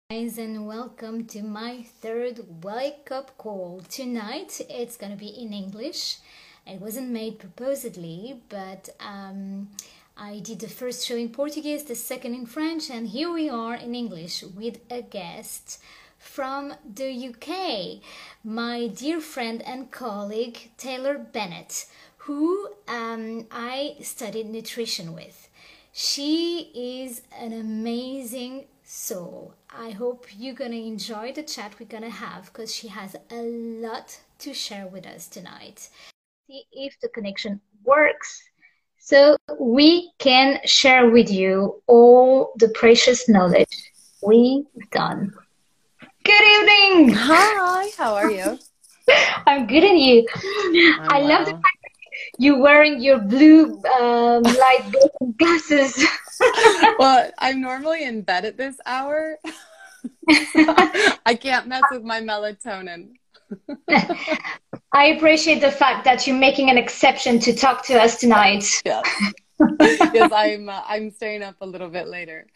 Guys, and welcome to my third wake up call. Tonight it's gonna be in English. It wasn't made purposely, but I did the first show in Portuguese, the second in French, and here we are in English with a guest from the UK, my dear friend and colleague Taylor Bennett, who I studied nutrition with. She is an amazing soul. I hope you're gonna enjoy the chat we're gonna have because she has a lot to share with us tonight. See if the connection works so we can share with you all the precious knowledge we've done. Good evening. Hi, how are you? I'm good at you. I love the Well. fact you're wearing your blue light blue glasses. Well, I'm normally in bed at this hour. I can't mess with my melatonin. I appreciate the fact that you're making an exception to talk to us tonight. Yes. Yes, I'm staying up a little bit later.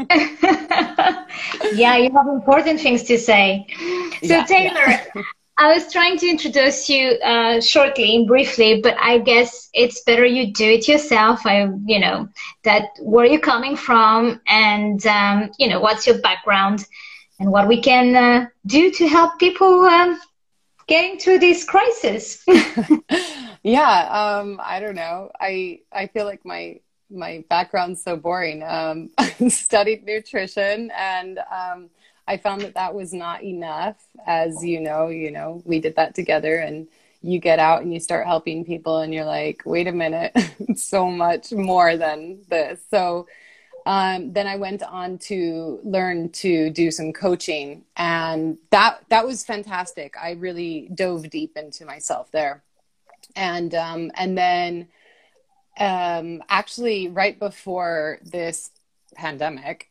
Yeah, you have important things to say. So, Yeah, Taylor, yeah. I was trying to introduce you shortly, briefly, but I guess it's better you do it yourself. That where you're coming from and, what's your background and what we can do to help people getting through this crisis. Yeah, I don't know. I feel like my background's so boring. I studied nutrition and I found that was not enough. As we did that together and you get out and you start helping people and you're like, wait a minute, it's so much more than this. So then I went on to learn to do some coaching and that was fantastic. I really dove deep into myself there. And then actually right before this pandemic,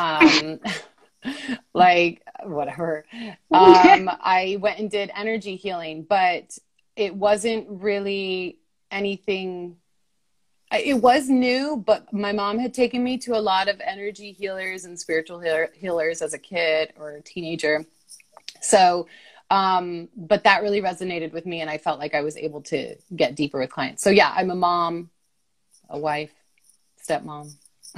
like whatever, I went and did energy healing, but it wasn't really anything. It was new, but my mom had taken me to a lot of energy healers and spiritual healers as a kid or a teenager. So, but that really resonated with me and I felt like I was able to get deeper with clients. So yeah, I'm a mom, a wife, stepmom.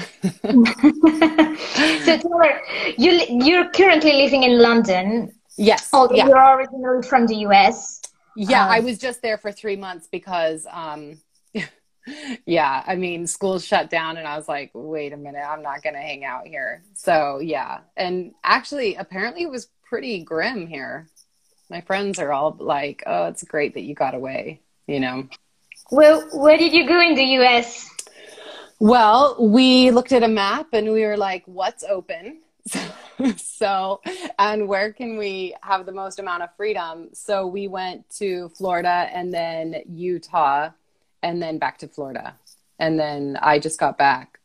So, Taylor, you're currently living in London, Yes. although Yeah. you're originally from the US. Yeah. I was just there for 3 months because, yeah, I mean, school's shut down and I was like, wait a minute, I'm not going to hang out here. So yeah. And actually, apparently it was pretty grim here. My friends are all like, oh, it's great that you got away, you know? Well, where did you go in the US? Well, we looked at a map and we were like, what's open? So, and where can we have the most amount of freedom? So we went to Florida and then Utah and then back to Florida. And then I just got back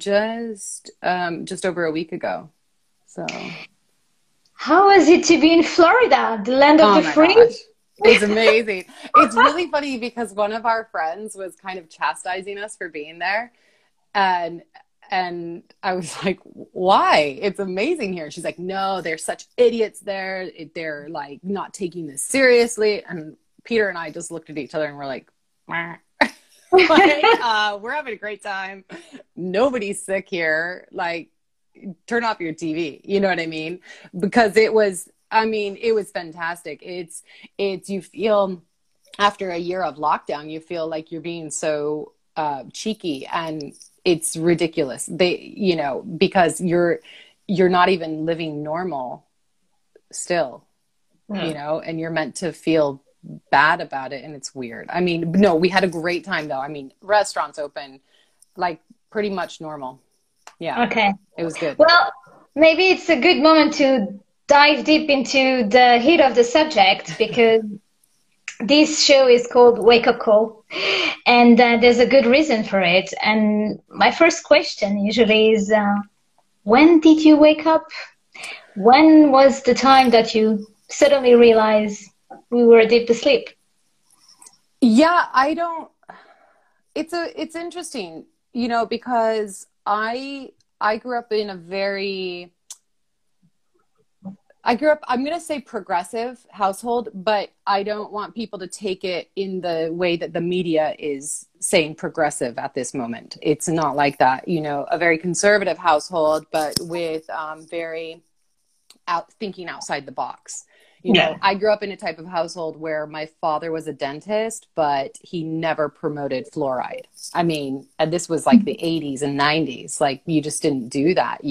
just over a week ago. So, How was it to be in Florida, the land of oh the my free? gosh. It's amazing. It's really funny because one of our friends was kind of chastising us for being there. And and I was like, why? It's amazing here. She's like, no, they're such idiots there. They're like not taking this seriously. And Peter and I just looked at each other and we're like, "Meh." Like, we're having a great time. Nobody's sick here. Like, turn off your TV. You know what I mean? Because it was fantastic. It's you feel after a year of lockdown, you feel like you're being so cheeky and it's ridiculous. Because you're not even living normal still, and you're meant to feel bad about it. And it's weird. I mean, no, we had a great time though. I mean, restaurants open, like pretty much normal. Yeah, Okay. it was good. Well, maybe it's a good moment to dive deep into the heat of the subject because this show is called Wake Up Call, and there's a good reason for it. And my first question usually is, when did you wake up? When was the time that you suddenly realized we were deep asleep? Yeah, I don't, it's interesting, because I grew up in a very I grew up, I'm going to say progressive household, but I don't want people to take it in the way that the media is saying progressive at this moment. It's not like that. You know, a very conservative household, but with very thinking outside the box. You know, I grew up in a type of household where my father was a dentist, but he never promoted fluoride. I mean, and this was like the 80s and 90s. Like, you just didn't do that.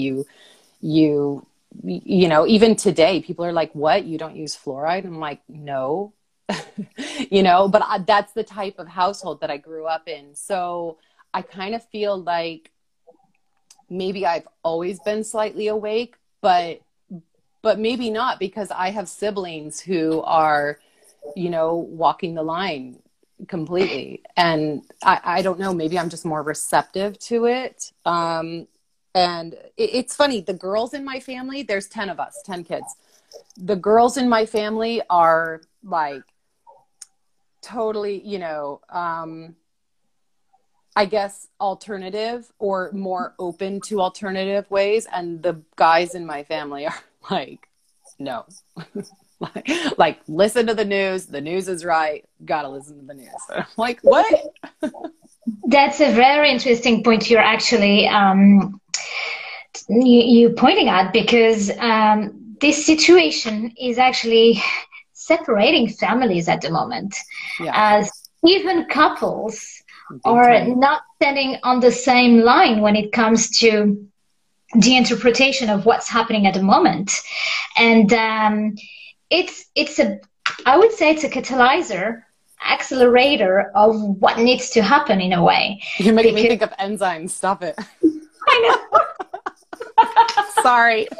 You know, even today, people are like, what? You don't use fluoride? I'm like, no, you know, but that's the type of household that I grew up in. So I kind of feel like maybe I've always been slightly awake, but maybe not, because I have siblings who are, you know, walking the line completely. And I don't know, maybe I'm just more receptive to it. And it's funny, the girls in my family, there's 10 of us, 10 kids. The girls in my family are like totally, you know, I guess alternative or more open to alternative ways. And the guys in my family are like, no, like listen to the news. The news is right. Gotta listen to the news. I'm like, what? That's a very interesting point you're actually you pointing at, because this situation is actually separating families at the moment, as even couples are not standing on the same line when it comes to the interpretation of what's happening at the moment. And it's a, I would say it's a catalyzer, accelerator of what needs to happen in a way. You're making me think of enzymes. Stop it. I know. Sorry.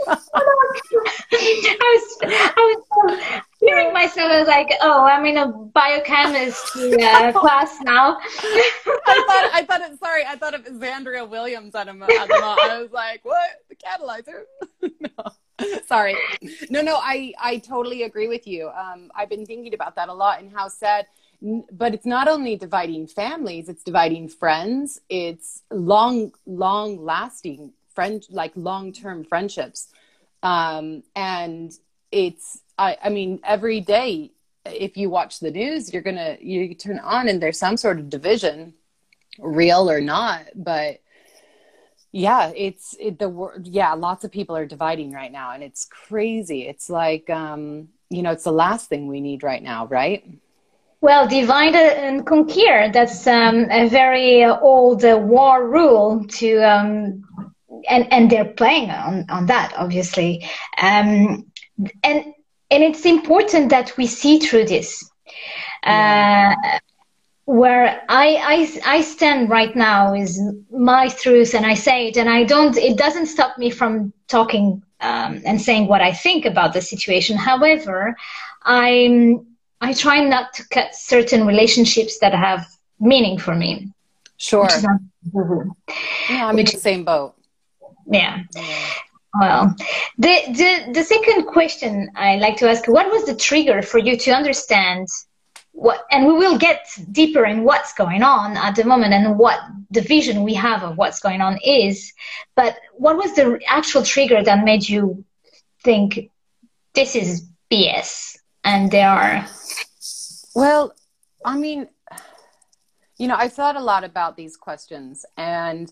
I was hearing myself. I was like, oh, I'm in a biochemistry class now. I thought of Xandria Williams at the moment. I was like, what? The catalyzer? No. Sorry. No, I totally agree with you. I've been thinking about that a lot, and how sad. But it's not only dividing families, it's dividing friends. It's long lasting like long-term friendships. And it's, I mean, every day, if you watch the news, you turn on and there's some sort of division, real or not. But yeah, lots of people are dividing right now, and it's crazy. It's like, you know, it's the last thing we need right now, right? Well, divide and conquer, that's a very old war rule to, and they're playing on that, obviously. And it's important that we see through this. Where I stand right now is my truth, and I say it, and it doesn't stop me from talking and saying what I think about the situation. However, I try not to cut certain relationships that have meaning for me. Sure. Yeah, I'm in the same boat. Yeah. Well, the second question I like to ask, what was the trigger for you to understand what, and we will get deeper in what's going on at the moment and what the vision we have of what's going on is, but what was the actual trigger that made you think this is BS and there are... Well, I mean, you know, I've thought a lot about these questions, and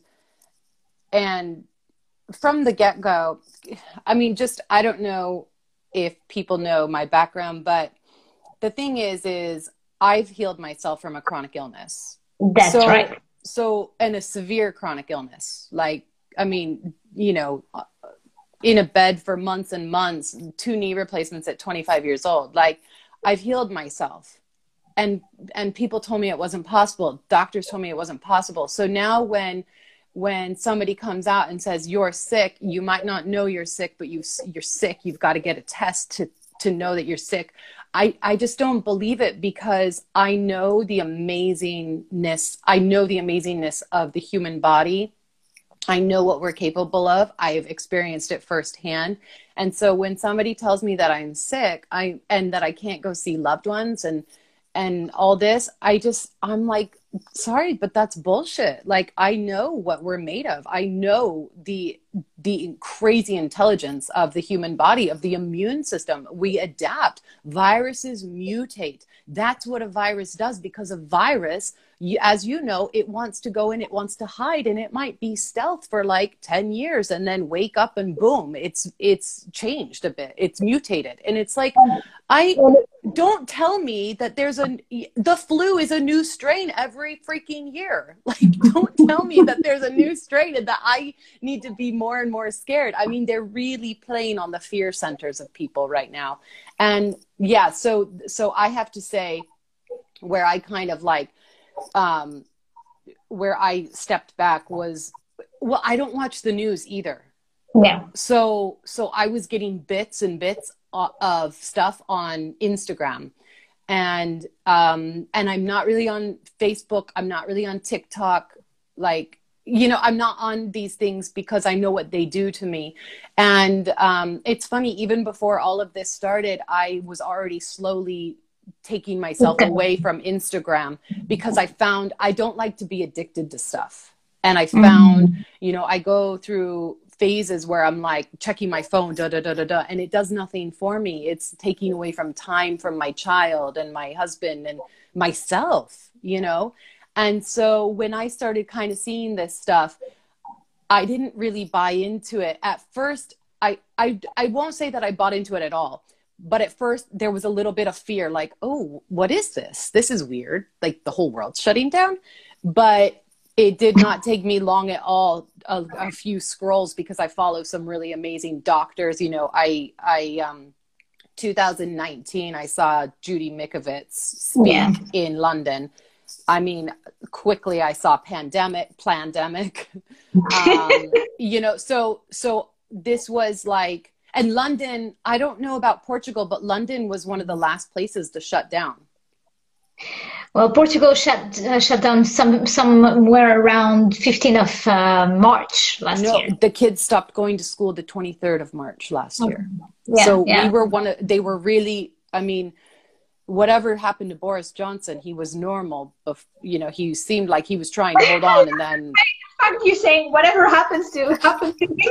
from the get-go, I mean, just, I don't know if people know my background, but the thing is I've healed myself from a chronic illness. That's right. So, and a severe chronic illness. Like, I mean, you know, in a bed for months and months, 2 knee replacements at 25 years old. Like, I've healed myself. And people told me it wasn't possible. Doctors told me it wasn't possible. So now when somebody comes out and says, you're sick, you might not know you're sick, but you're sick. You've got to get a test to know that you're sick. I just don't believe it, because I know the amazingness. I know the amazingness of the human body. I know what we're capable of. I've experienced it firsthand. And so when somebody tells me that I'm sick, and that I can't go see loved ones, and all this, I'm like, sorry, but that's bullshit. Like, I know what we're made of. I know the crazy intelligence of the human body, of the immune system. We adapt. Viruses mutate. That's what a virus does, because a virus, as you know, it wants to go in, it wants to hide, and it might be stealth for like 10 years and then wake up and boom, it's changed a bit. It's mutated. And it's like, don't tell me that the flu is a new strain every freaking year. Like, don't tell me that there's a new strain and that I need to be more and more scared. I mean, they're really playing on the fear centers of people right now. And yeah, so I have to say, where I kind of like, where I stepped back was, well, I don't watch the news either. Yeah. So I was getting bits and bits of stuff on Instagram, and I'm not really on Facebook. I'm not really on TikTok. Like, you know, I'm not on these things because I know what they do to me. And it's funny, even before all of this started, I was already slowly taking myself away from Instagram, because I found I don't like to be addicted to stuff. And I found, you know, I go through phases where I'm like checking my phone, and it does nothing for me. It's taking away from time from my child and my husband and myself, you know? And so when I started kind of seeing this stuff, I didn't really buy into it. At first, I won't say that I bought into it at all. But at first there was a little bit of fear, like, oh, what is this? This is weird. Like, the whole world's shutting down. But it did not take me long at all, a few scrolls, because I follow some really amazing doctors. You know, I 2019, I saw Judy Mikovits speak in London. I mean, quickly I saw Plandemic. You know, so this was like, and London, I don't know about Portugal, but London was one of the last places to shut down. Well, Portugal shut down somewhere around 15th of March last year. The kids stopped going to school the 23rd of March last year. Yeah, so we were they were really, I mean, whatever happened to Boris Johnson, he was normal. You know, he seemed like he was trying to hold on, and then... You saying whatever happens to me?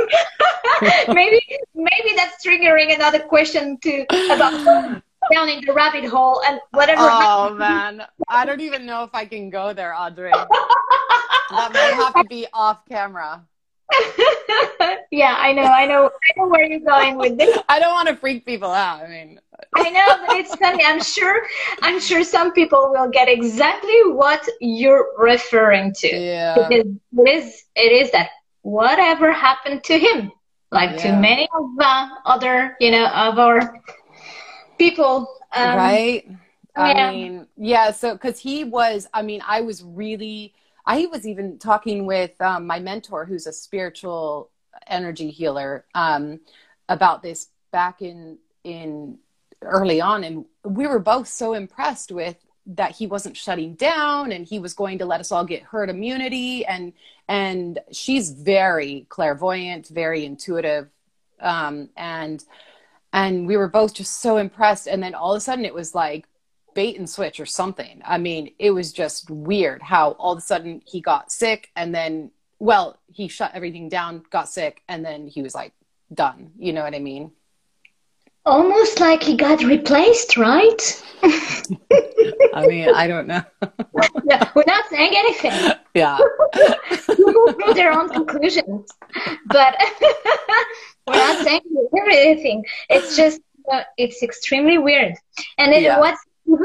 maybe that's triggering another question about down in the rabbit hole and whatever. Oh man, I don't even know if I can go there, Audrey. That might have to be off camera. Yeah, I know where you're going with this. I don't want to freak people out. I mean, I know, but it's funny. I'm sure some people will get exactly what you're referring to. Yeah. Because it is that whatever happened to him, like to many of other, you know, of our people. Right. I mean, yeah. So, because he was, I mean, I was even talking with my mentor, who's a spiritual energy healer, about this back in early on. And we were both so impressed with that he wasn't shutting down, and he was going to let us all get herd immunity. And she's very clairvoyant, very intuitive. And we were both just so impressed. And then all of a sudden it was like bait and switch or something. I mean, it was just weird how all of a sudden he got sick, and then, well, he shut everything down, got sick, and then he was like done. You know what I mean? Almost like he got replaced, right? I mean, I don't know. No, we're not saying anything. Yeah. People draw their own conclusions. But we're not saying anything. It's just, it's extremely weird. And then what's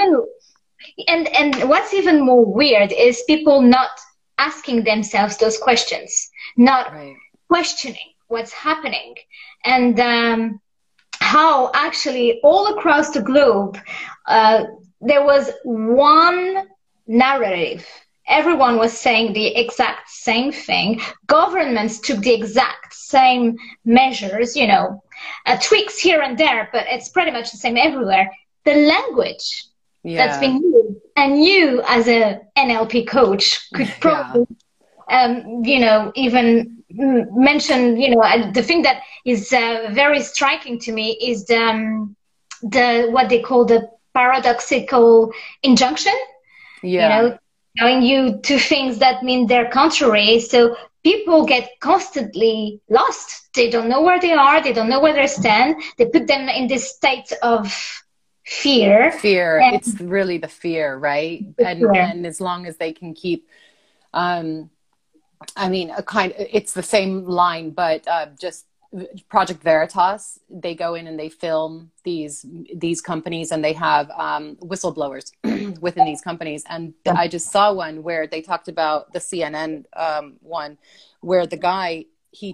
even more weird is people not asking themselves those questions, not questioning what's happening. And how actually all across the globe, there was one narrative. Everyone was saying the exact same thing. Governments took the exact same measures, you know, tweaks here and there, but it's pretty much the same everywhere. The language that's being used, and you as a NLP coach could probably, you know, even mention, you know, the thing that is very striking to me is the what they call the paradoxical injunction, you Yeah. know, telling you two things that mean they're contrary. So people get constantly lost. They don't know where they are. They don't know where they stand. They put them in this state of fear Fear. and It's really the fear, right? fear. And as long as they can keep, um, I mean, it's the same line, but just Project Veritas, they go in and they film these companies, and they have whistleblowers within these companies. And I just saw one where they talked about the CNN one, where the guy,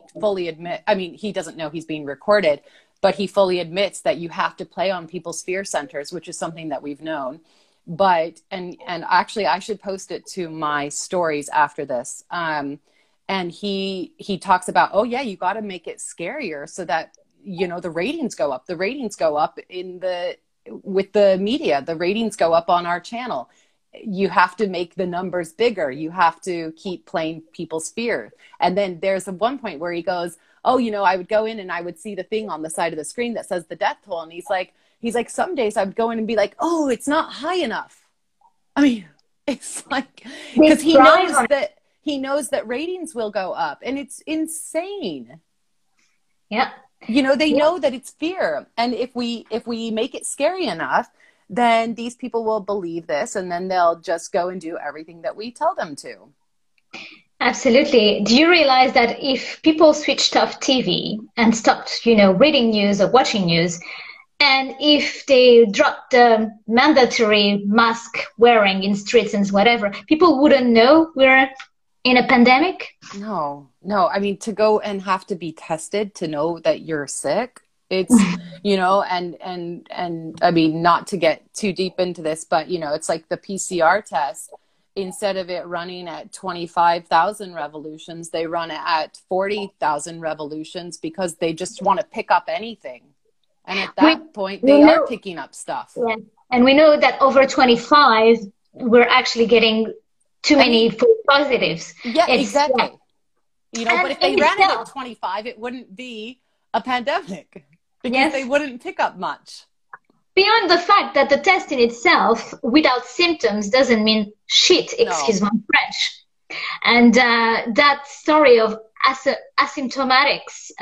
he doesn't know he's being recorded, but he fully admits that you have to play on people's fear centers, which is something that we've known. But and actually, I should post it to my stories after this. And he talks about, oh yeah, you got to make it scarier so that, you know, the ratings go up. The ratings go up with the media. The ratings go up on our channel. You have to make the numbers bigger. You have to keep playing people's fear. And then there's one point where he goes, oh, you know, I would go in and I would see the thing on the side of the screen that says the death toll. And he's like, some days I would go in and be like, oh, it's not high enough. I mean, it's like, because he knows that ratings will go up, and it's insane. Yeah. You know, they know that it's fear. And if we make it scary enough, then these people will believe this, and then they'll just go and do everything that we tell them to. Absolutely. Do you realize that if people switched off TV and stopped, you know, reading news or watching news, and if they dropped the mandatory mask wearing in streets and whatever, people wouldn't know we're in a pandemic? No. I mean, to go and have to be tested to know that you're sick, it's, you know, and I mean, not to get too deep into this, but, you know, it's like the PCR test. Instead of it running at 25,000 revolutions, they run it at 40,000 revolutions because they just want to pick up anything. And at that point, they are picking up stuff. Yeah. And we know that over 25, we're actually getting too many false positives. Yeah, exactly. Yeah. You know, but if they ran it at 25, it wouldn't be a pandemic because they wouldn't pick up much. Beyond the fact that the test in itself, without symptoms, doesn't mean shit, excuse my French. And that story of asymptomatics,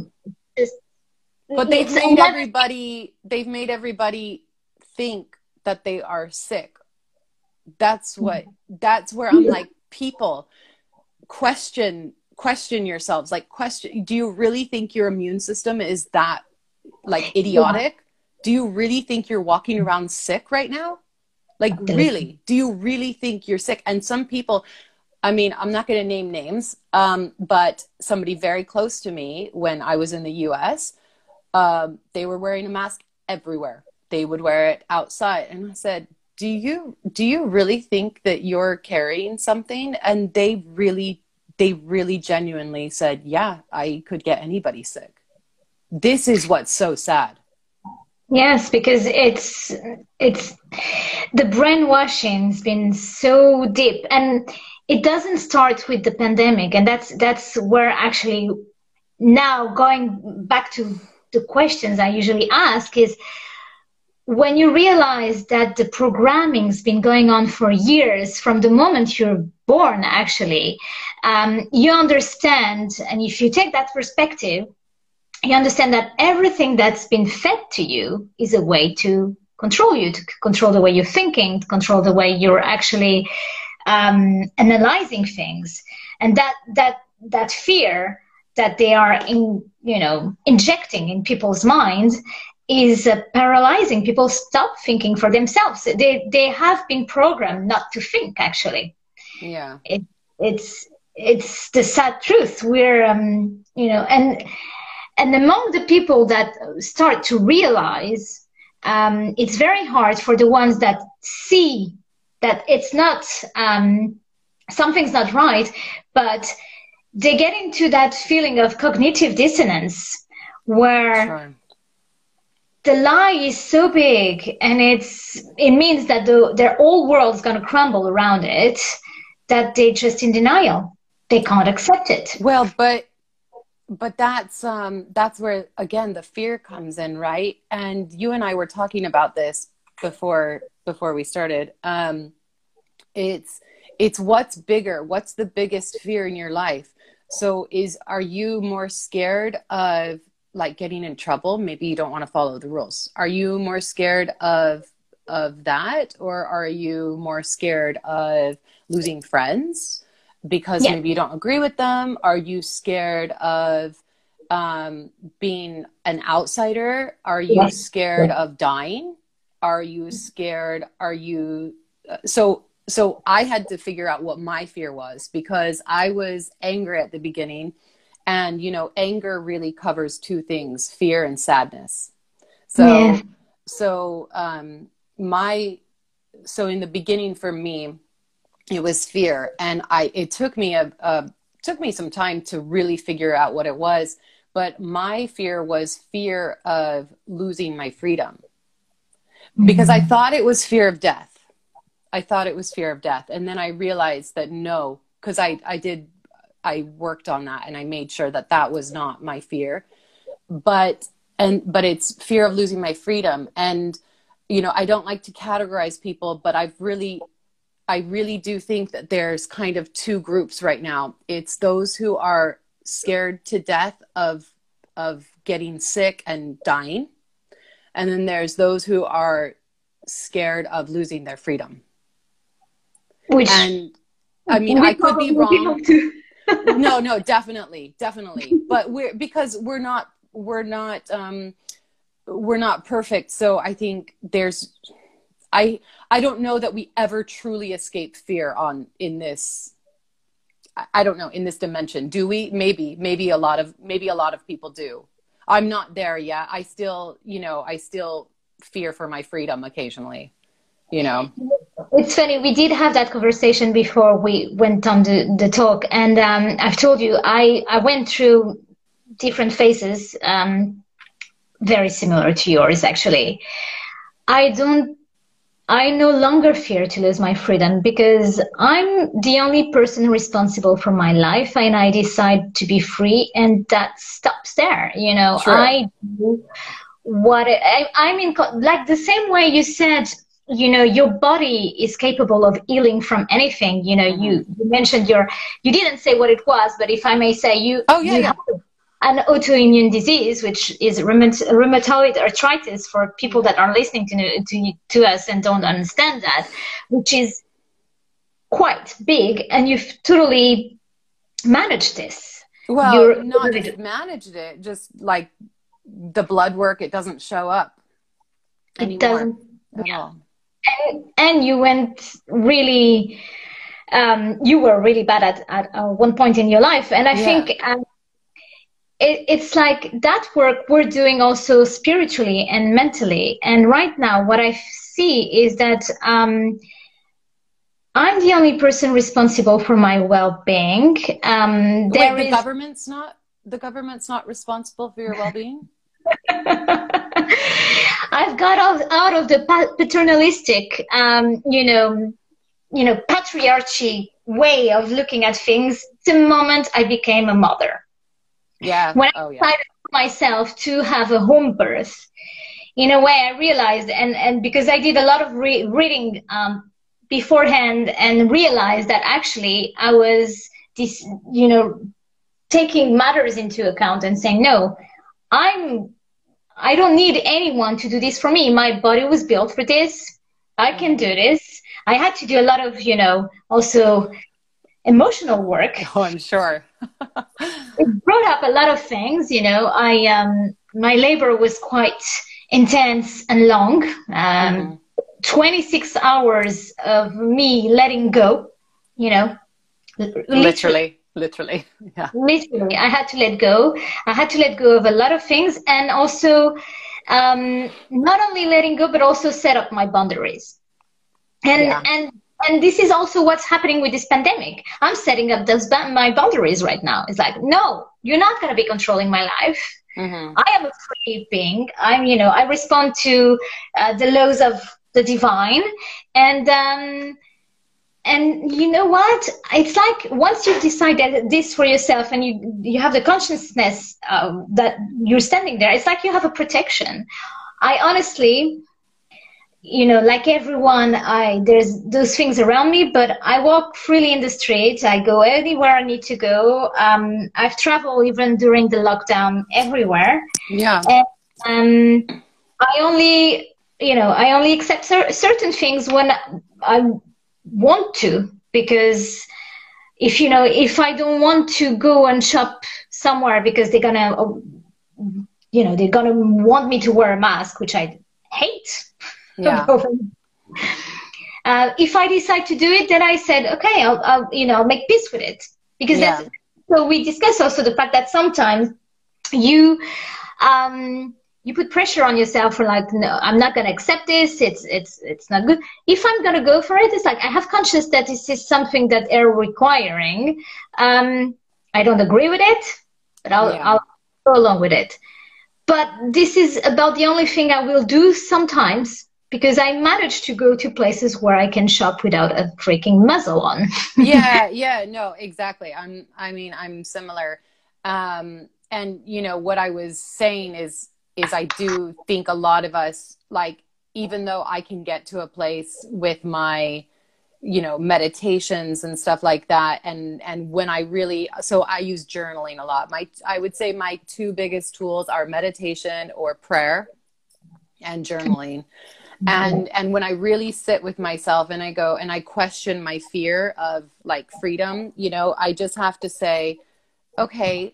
but they've made everybody think that they are sick. That's where I'm like, people, question yourselves. Like, do you really think your immune system is that like idiotic? Do you really think you're walking around sick right now? Like, really? Do you really think you're sick? And some people, I mean, I'm not going to name names, but somebody very close to me when I was in the US, they were wearing a mask everywhere. They would wear it outside. And I said, do you really think that you're carrying something? And they really genuinely said, yeah, I could get anybody sick. This is what's so sad. Yes, because it's the brainwashing's been so deep, and it doesn't start with the pandemic, and that's where actually now going back to the questions I usually ask is, when you realize that the programming's been going on for years, from the moment you're born, actually, you understand, and if you take that perspective, you understand that everything that's been fed to you is a way to control you, to control the way you're thinking, to control the way you're actually analyzing things. And that fear that they are injecting in people's minds is paralyzing. People stop thinking for themselves. They have been programmed not to think, actually. Yeah. It's the sad truth. We're, and among the people that start to realize, it's very hard for the ones that see that it's not, something's not right, but they get into that feeling of cognitive dissonance where the lie is so big, and it means that their whole world's going to crumble around it, that they're just in denial. They can't accept it. Well, but that's where, again, the fear comes in, right? And you and I were talking about this before we started. It's what's bigger, what's the biggest fear in your life. So are you more scared of like getting in trouble? Maybe you don't want to follow the rules. Are you more scared of that, or are you more scared of losing friends because maybe you don't agree with them? Are you scared of being an outsider? Are you scared of dying? Are you scared? So I had to figure out what my fear was, because I was angry at the beginning, and, you know, anger really covers two things, fear and sadness. So in the beginning for me, it was fear. And it took me some time to really figure out what it was. But my fear was fear of losing my freedom, because I thought it was fear of death. And then I realized that no, because I worked on that, and I made sure that was not my fear, but it's fear of losing my freedom. And, you know, I don't like to categorize people, but I really do think that there's kind of two groups right now. It's those who are scared to death of getting sick and dying. And then there's those who are scared of losing their freedom. And I mean, I could be wrong. No, definitely. But we're not perfect. So I think I don't know that we ever truly escape fear in this. I don't know, in this dimension. Do we? Maybe a lot of people do. I'm not there yet. I still fear for my freedom occasionally, you know. It's funny, we did have that conversation before we went on the talk, and I've told you I went through different phases, very similar to yours actually. I no longer fear to lose my freedom, because I'm the only person responsible for my life, and I decide to be free, and that stops there. You know, True. I do what I'm in, like the same way you said, you know, your body is capable of healing from anything. You know, you mentioned you didn't say what it was, but if I may say, you have an autoimmune disease, which is rheumatoid arthritis, for people that are listening to us and don't understand that, which is quite big, and you've totally managed this. Well, not just managed it, just like the blood work, it doesn't show up anymore. It doesn't at all. And you went really, you were really bad at one point in your life, and I think it's like that work we're doing also spiritually and mentally. And right now, what I see is that I'm the only person responsible for my well-being. The government's not responsible for your well-being? I've got out of the paternalistic, patriarchy way of looking at things the moment I became a mother. Yeah. When I decided for myself to have a home birth, in a way I realized, and because I did a lot of reading beforehand, and realized that actually I was taking matters into account and saying, no, I don't need anyone to do this for me. My body was built for this. I can do this. I had to do a lot of, also emotional work. Oh, I'm sure. It brought up a lot of things, my labor was quite intense and long. 26 hours of me letting go, literally. Yeah. Literally, I had to let go. I had to let go of a lot of things, and also not only letting go, but also set up my boundaries. And this is also what's happening with this pandemic. I'm setting up my boundaries right now. It's like, no, you're not going to be controlling my life. I am a free being. I respond to the laws of the divine, and you know what? It's like once you've decided this for yourself, and you have the consciousness that you're standing there, it's like you have a protection. I honestly, you know, like everyone, there's those things around me, but I walk freely in the street. I go anywhere I need to go. I've traveled even during the lockdown everywhere. Yeah. And I only accept certain things when I want to, because if I don't want to go and shop somewhere because they're gonna want me to wear a mask, which I hate. Yeah. If I decide to do it, then I said, okay, I'll make peace with it, because so we discussed also the fact that sometimes you put pressure on yourself for like, no, I'm not going to accept this. It's not good. If I'm going to go for it, it's like, I have conscious that this is something that they're requiring. I don't agree with it, but I'll go along with it. But this is about the only thing I will do sometimes, because I managed to go to places where I can shop without a freaking muzzle on. Yeah, no, exactly. I'm similar. And what I was saying is I do think a lot of us, like, even though I can get to a place with my, meditations and stuff like that. And when I use journaling a lot. I would say my two biggest tools are meditation or prayer and journaling. And when I really sit with myself and I go and I question my fear of like freedom, I just have to say, okay,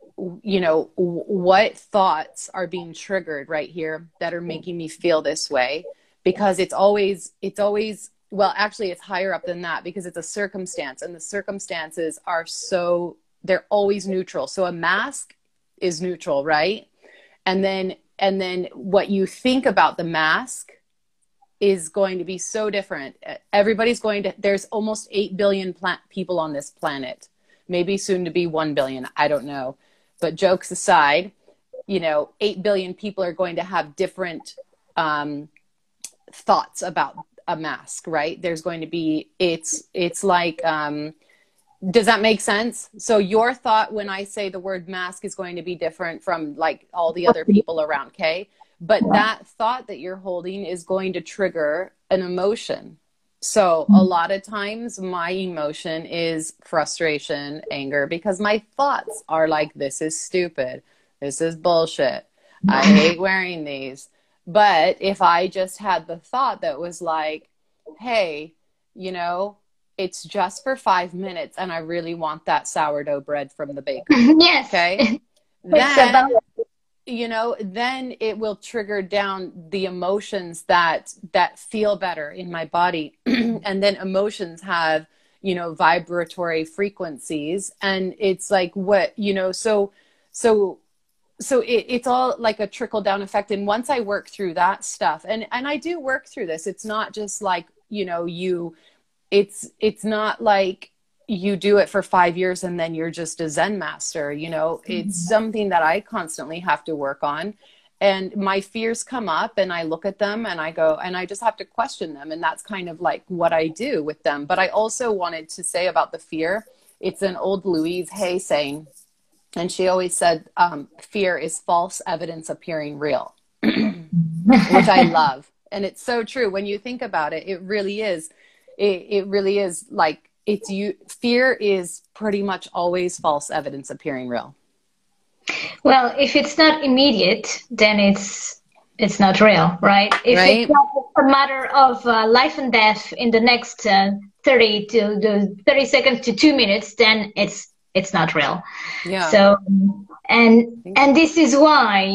what thoughts are being triggered right here that are making me feel this way? Because it's always, well, actually it's higher up than that, because it's a circumstance, and the circumstances they're always neutral. So a mask is neutral, right? And then what you think about the mask is going to be so different. There's almost 8 billion people on this planet, maybe soon to be 1 billion. I don't know. But jokes aside, 8 billion people are going to have different thoughts about a mask, right? There's going to be, it's like, does that make sense? So your thought when I say the word mask is going to be different from like all the other people around, okay? But that thought that you're holding is going to trigger an emotion. So a lot of times my emotion is frustration, anger, because my thoughts are like, this is stupid. This is bullshit. I hate wearing these. But if I just had the thought that was like, hey, it's just for 5 minutes and I really want that sourdough bread from the bakery. Yes. Okay. Then it will trigger down the emotions that feel better in my body. And then emotions have, vibratory frequencies, and it's like so it's all like a trickle down effect. And once I work through that stuff, and I do work through this, it's not just like, it's not like you do it for 5 years and then you're just a Zen master, it's something that I constantly have to work on. And my fears come up and I look at them and I go, and I just have to question them. And that's kind of like what I do with them. But I also wanted to say about the fear, it's an old Louise Hay saying, and she always said, fear is false evidence appearing real, which I love. And it's so true. When you think about it, it really is. It really is like, fear is pretty much always false evidence appearing real. Well, if it's not immediate, then it's not real, right? If it's not a matter of life and death in the next 30 seconds to 2 minutes, then it's not real. Yeah. So, and this is why,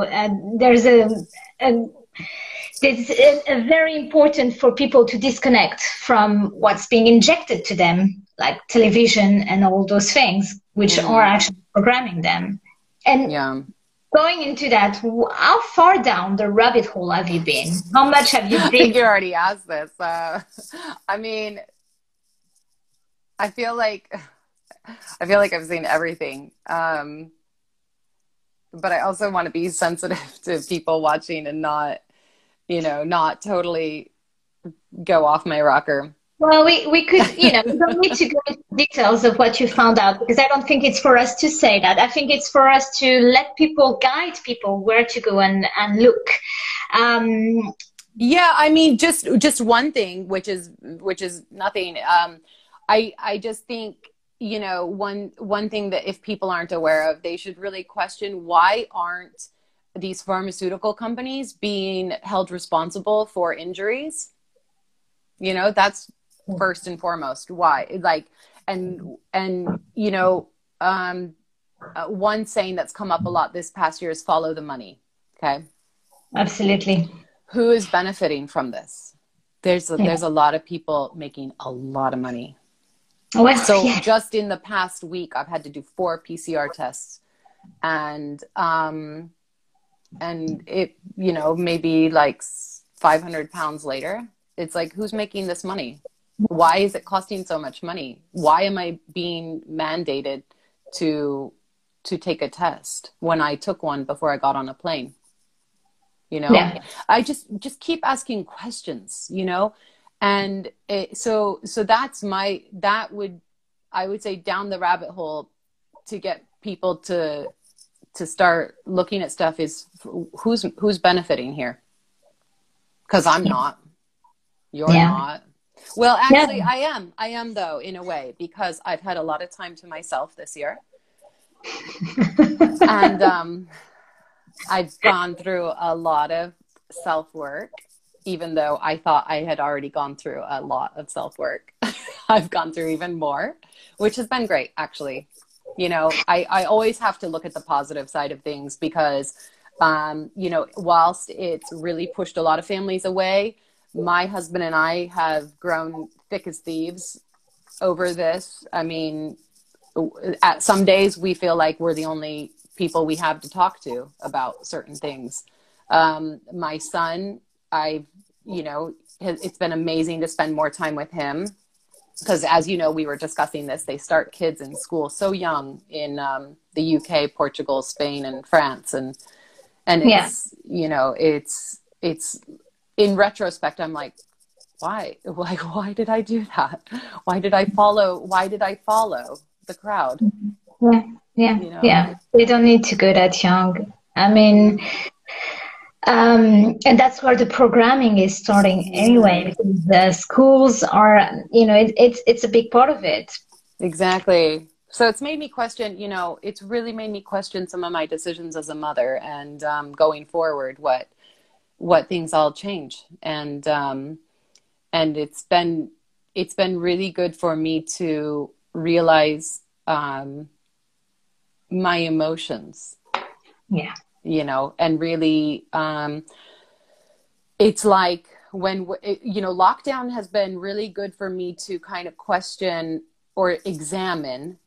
it's very important for people to disconnect from what's being injected to them, like television and all those things, which are actually programming them. And going into that, how far down the rabbit hole have you been? How much have you been? I think you already asked this. I mean, I feel like I've seen everything. But I also want to be sensitive to people watching and not totally go off my rocker. Well, we could, we don't need to go into details of what you found out, because I don't think it's for us to say that. I think it's for us to guide people where to go and look. Yeah, I mean, just one thing, which is nothing. I just think, you know, one thing that if people aren't aware of, they should really question, why aren't these pharmaceutical companies being held responsible for injuries? You know, that's first and foremost. Why? Like, and you know, one saying that's come up a lot this past year is follow the money. Okay. Absolutely. Who is benefiting from this? Yeah. There's a lot of people making a lot of money. Well, So yeah. just in the past week, I've had to do 4 PCR tests, and it, you know, maybe like 500 pounds later, it's like, who's making this money? Why is it costing so much money? Why am I being mandated to take a test when I took one before I got on a plane? You know, Yeah. I just keep asking questions, you know, and so that's I would say down the rabbit hole to get people to start looking at stuff is who's benefiting here, because I'm not, you're Yeah. not. Well, Yeah. actually, I am though, in a way, because I've had a lot of time to myself this year, and I've gone through a lot of self-work, even though I thought I had already gone through a lot of self-work. I've gone through even more, which has been great, actually. You know, I always have to look at the positive side of things, because, you know, whilst it's really pushed a lot of families away, my husband and I have grown thick as thieves over this. I mean, at some days we feel like we're the only people we have to talk to about certain things. My son, you know, it's been amazing to spend more time with him, because, as you know, we were discussing this, they start kids in school so young in the UK, Portugal, Spain, and France. And Yeah. it's, you know, it's in retrospect, I'm like, why did I do that? Why did I follow the crowd? Yeah. Yeah. You know? Yeah. They don't need to go that young. I mean, and that's where the programming is starting anyway, Mm, because the schools are, you know, it's a big part of it. exactly. So it's made me question, you know, it's really made me question some of my decisions as a mother, and going forward, what things I'll change. And it's been really good for me to realize my emotions, Yeah. you know, and really, it's like you know, lockdown has been really good for me to kind of question or examine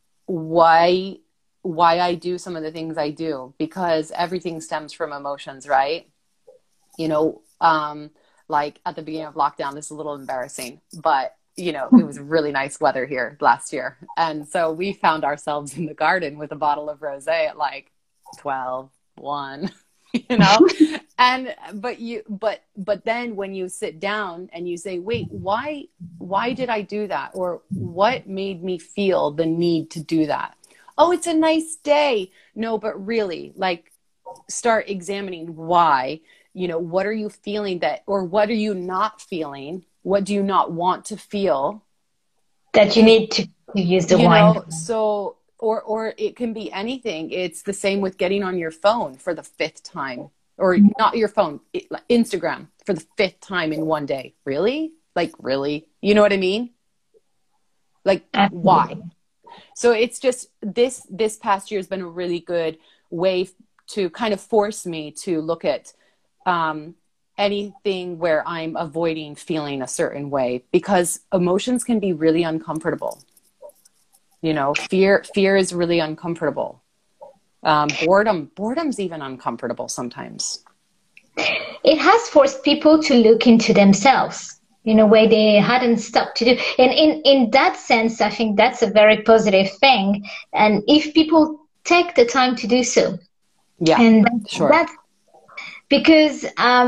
why I do some of the things I do, because everything stems from emotions, right? You know, like at the beginning of lockdown, this is a little embarrassing, but you know, it was really nice weather here last year. And so we found ourselves in the garden with a bottle of rosé at like 12, 1, you know? And, but then when you sit down and you say, wait, why did I do that? Or what made me feel the need to do that? Oh, it's a nice day. No, but really, like, start examining why. You know, what are you feeling that, or what are you not feeling? What do you not want to feel? That you Because, need to use the you wine. know, so, or it can be anything. It's the same with getting on your phone for the 5th time, or not your phone, Instagram for the 5th time in one day. Really? Like, really? You know what I mean? Like, why? Absolutely. So it's just this past year has been a really good way to kind of force me to look at anything where I'm avoiding feeling a certain way, because emotions can be really uncomfortable. You know, fear is really uncomfortable. Boredom's even uncomfortable sometimes. It has forced people to look into themselves in a way they hadn't stopped to do. And in that sense, I think that's a very positive thing. And if people take the time to do so, Yeah, and sure. that's because,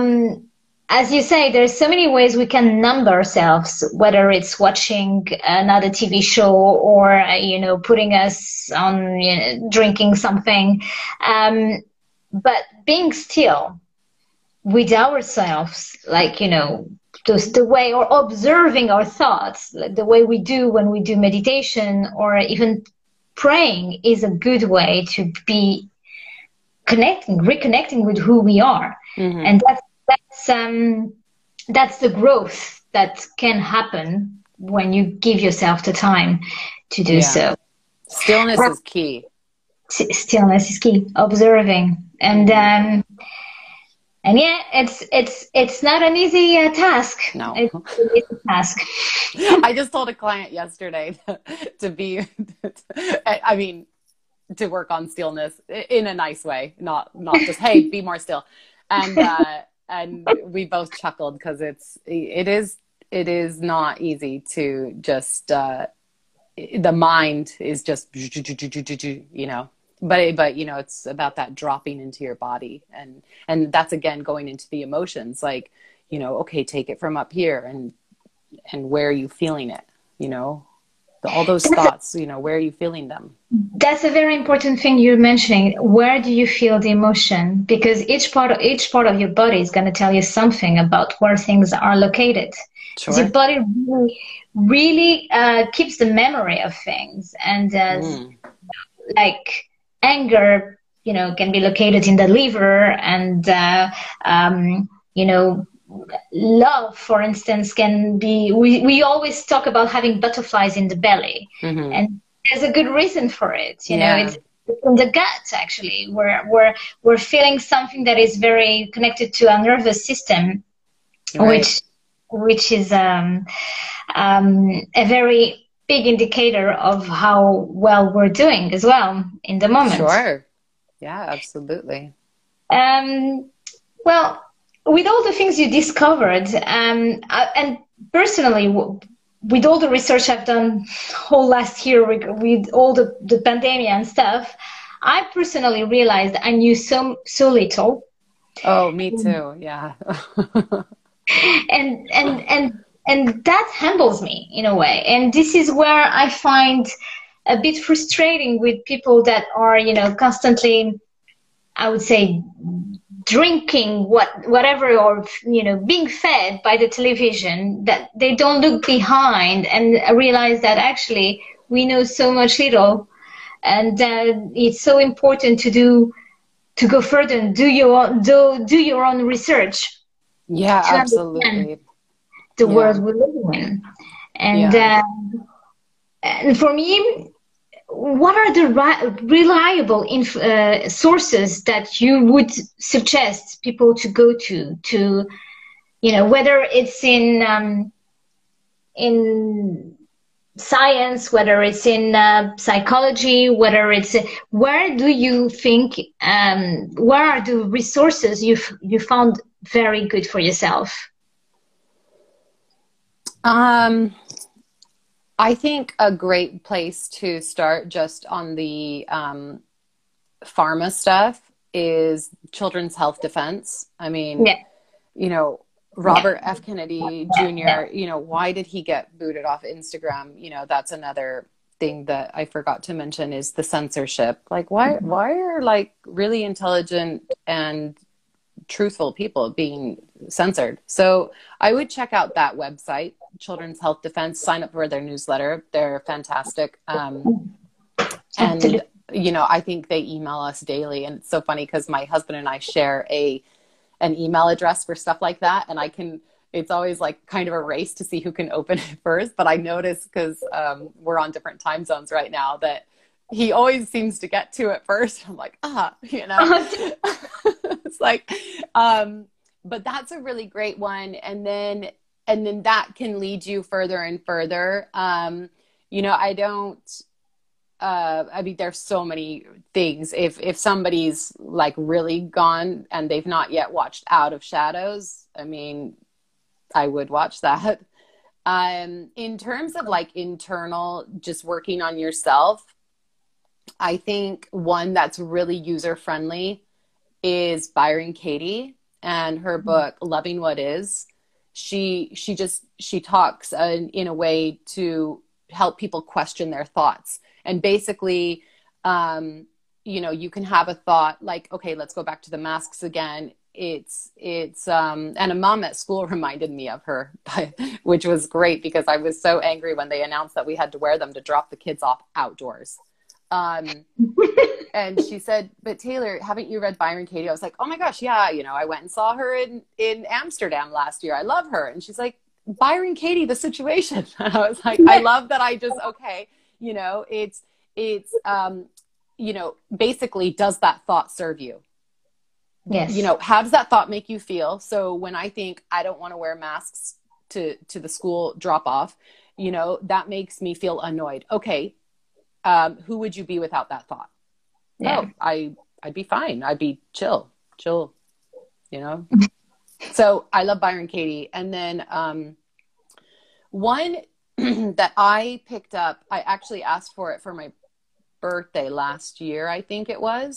as you say, there's so many ways we can numb ourselves, whether it's watching another TV show or, you know, putting us on, you know, drinking something. But being still, with ourselves, like, just the way, or observing our thoughts, like the way we do when we do meditation or even praying, is a good way to be reconnecting with who we are. Mm-hmm. And that's the growth that can happen when you give yourself the time to do so. Stillness is key. Stillness is key. Observing. And yeah, it's not an easy task. No, it's an easy task. I just told a client yesterday to work on stillness in a nice way, not just, hey, be more still. And we both chuckled, because it is not easy to just, the mind is just, but it's about that dropping into your body. And that's, again, going into the emotions, like, okay, take it from up here, and where are you feeling it? All those thoughts, where are you feeling them? That's a very important thing you're mentioning. Where do you feel the emotion? Because each part of your body is going to tell you something about where things are located. Sure. The body really keeps the memory of things, and like anger, can be located in the liver, and love, for instance, can be, we always talk about having butterflies in the belly. Mm-hmm. And there's a good reason for it. It's in the gut, actually, where we're feeling something that is very connected to our nervous system, right. which is a very big indicator of how well we're doing as well in the moment. Sure. Yeah, absolutely. Well, with all the things you discovered, and personally, with all the research I've done whole last year with all the pandemic and stuff, I personally realized I knew so little. Oh, me too. Yeah. and that humbles me in a way. And this is where I find a bit frustrating with people that are, constantly, I would say, drinking whatever, or being fed by the television, that they don't look behind and realize that actually we know so much little, and it's so important to go further and do your own research. Yeah, absolutely. The world we live in. And for me, what are the reliable sources that you would suggest people to go to, whether it's in science, whether it's in psychology, whether it's, where do you think, where are the resources you found very good for yourself? I think a great place to start, just on the pharma stuff, is Children's Health Defense. I mean, Robert F. Kennedy Jr., why did he get booted off Instagram? That's another thing that I forgot to mention, is the censorship. Like, why are, like, really intelligent and truthful people being censored? So I would check out that website, Children's Health Defense. Sign up for their newsletter. They're fantastic. And I think they email us daily, and it's so funny because my husband and I share an email address for stuff like that, and it's always like kind of a race to see who can open it first. But I notice, because we're on different time zones right now, that he always seems to get to it first. I'm like, it's like, but that's a really great one. And then that can lead you further and further. There's so many things. If somebody's like really gone and they've not yet watched Out of Shadows, I would watch that. In terms of like internal, just working on yourself, I think one that's really user-friendly is Byron Katie, and her book, Loving What Is. She talks in a way to help people question their thoughts. And basically, you can have a thought like, okay, let's go back to the masks again. and a mom at school reminded me of her, which was great because I was so angry when they announced that we had to wear them to drop the kids off outdoors. And she said, but Taylor, haven't you read Byron Katie? I was like, oh my gosh, yeah. You know, I went and saw her in Amsterdam last year. I love her. And she's like, Byron Katie, the situation. And I was like, I love that. Okay. You know, it's, you know, basically, does that thought serve you? Yes. You know, how does that thought make you feel? So when I think I don't want to wear masks to the school drop off, you know, that makes me feel annoyed. Okay. Who would you be without that thought? Yeah. Oh, I'd be fine. I'd be chill, you know? So I love Byron Katie. And then, one that I picked up, I actually asked for it for my birthday last year, I think it was.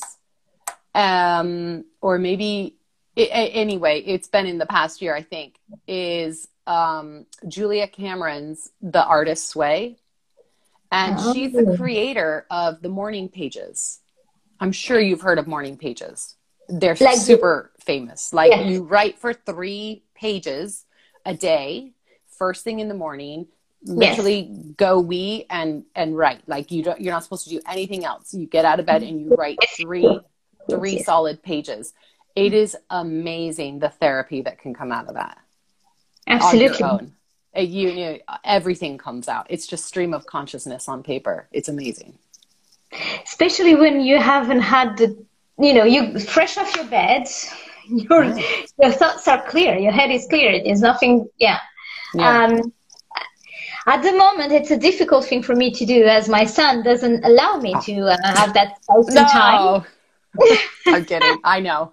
Or maybe, anyway, it's been in the past year, I think, is Julia Cameron's The Artist's Way. And she's the creator of the Morning Pages. I'm sure you've heard of Morning Pages. They're like super famous. Like yes. You write for 3 pages a day, first thing in the morning, literally yes. Go wee and write. Like you're not supposed to do anything else. You get out of bed and you write three solid pages. It is amazing the therapy that can come out of that. Absolutely. On your own. You know, everything comes out. It's just stream of consciousness on paper. It's amazing. Especially when you haven't had you fresh off your bed, your thoughts are clear, your head is clear. There's nothing, yeah. At the moment, it's a difficult thing for me to do as my son doesn't allow me to have that space and time. I'm kidding. I know.